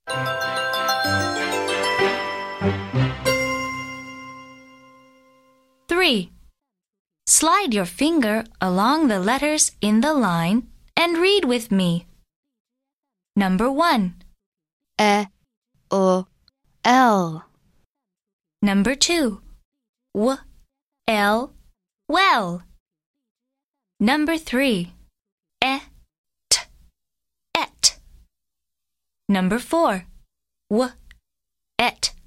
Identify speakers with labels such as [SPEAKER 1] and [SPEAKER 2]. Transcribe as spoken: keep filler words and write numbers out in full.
[SPEAKER 1] Three. Slide your finger along the letters in the line and read with me. Number one.
[SPEAKER 2] E, O, L.
[SPEAKER 1] Number two. W, L, well. Number three. E, T, et. Number four. W, et,